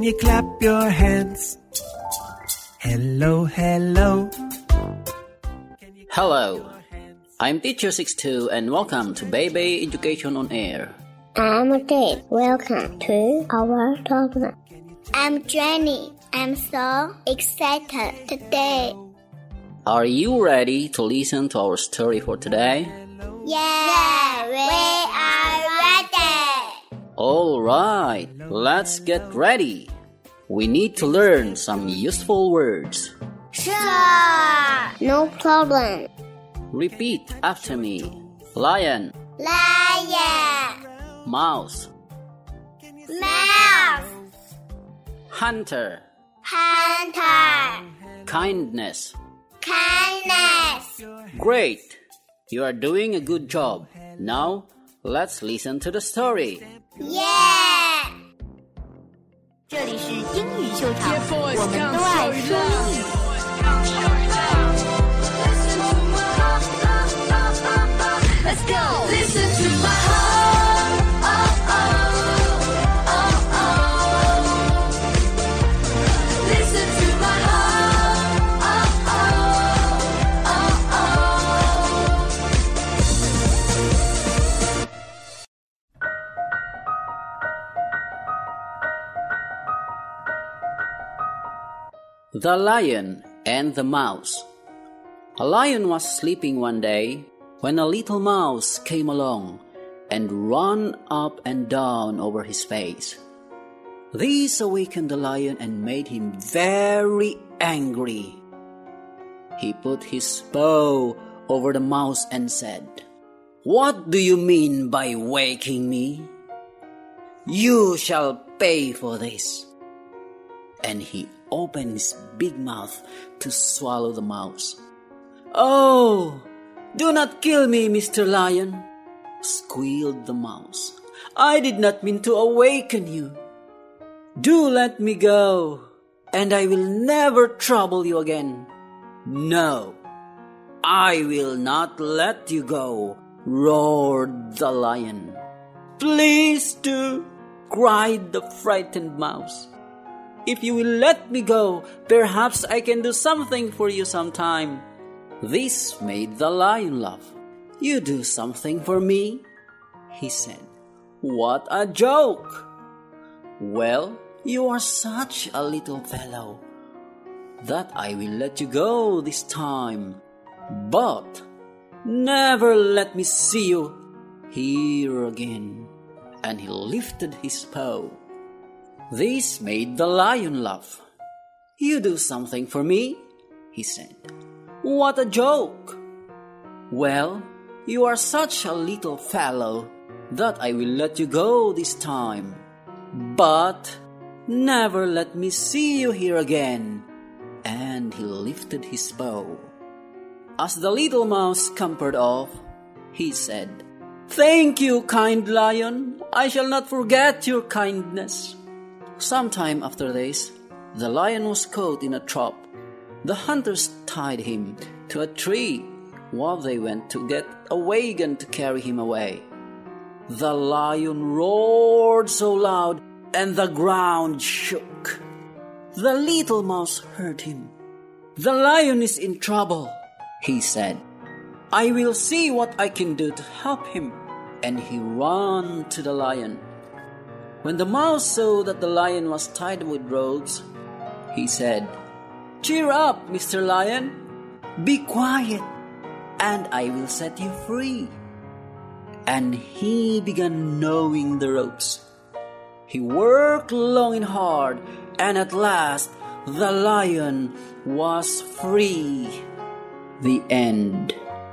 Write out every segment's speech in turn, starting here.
Can you clap your hands? Hello, hello. Hello, I'm Teacher 62 and welcome to Baby Education on Air. I'm Dave. Welcome to our program. I'm Jenny. I'm so excited today. Are you ready to listen to our story for today? Yeah, we are ready. Alright, let's get ready. We need to learn some useful words. Sure. No problem. Repeat after me. Lion, Lion, mouse, mouse, hunter, hunter, kindness. kindness. Great! You are doing a good job. Now, let's listen to the story. Yeah. 这里是英语秀场，我们都爱说英语。Let's go. Listen to my heart. Oh, oh, oh, oh. Listen to my heart. Oh, oh, oh, oh. The Lion and the Mouse. A lion was sleeping one day when a little mouse came along and ran up and down over his face. This awakened the lion and made him very angry. He put his paw over the mouse and said, "What do you mean by waking me? You shall pay for this." And he opened his big mouth to swallow the mouse. "Oh, do not kill me, Mr. Lion," squealed the mouse. "I did not mean to awaken you. Do let me go, and I will never trouble you again." "No, I will not let you go," roared the lion. "Please do," cried the frightened mouse. "If you will let me go, perhaps I can do something for you sometime." This made the lion laugh. "You do something for me?" he said. "What a joke! Well, you are such a little fellow that I will let you go this time. But never let me see you here again." And he lifted his paw. This made the lion laugh. "You do something for me?" he said. "What a joke! Well, you are such a little fellow that I will let you go this time. But never let me see you here again." And he lifted his paw. As the little mouse scampered off, he said, "Thank you, kind lion. I shall not forget your kindness." Sometime after this, the lion was caught in a trap. The hunters tied him to a tree while they went to get a wagon to carry him away. The lion roared so loud and the ground shook. The little mouse heard him. "The lion is in trouble," he said. "I will see what I can do to help him." And he ran to the lion. When the mouse saw that the lion was tied with ropes, he said, "Cheer up, Mr. Lion. Be quiet, and I will set you free." And he began gnawing the ropes. He worked long and hard, and at last the lion was free. The end.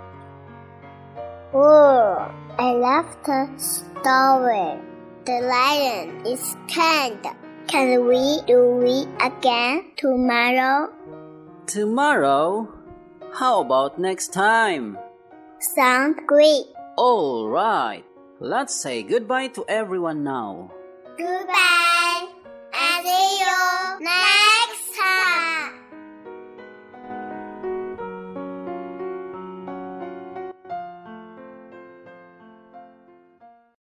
Oh, I love the story. The lion is kind. Can we do it again tomorrow? Tomorrow? How about next time? Sounds great. All right. Let's say goodbye to everyone now. Goodbye. And see you next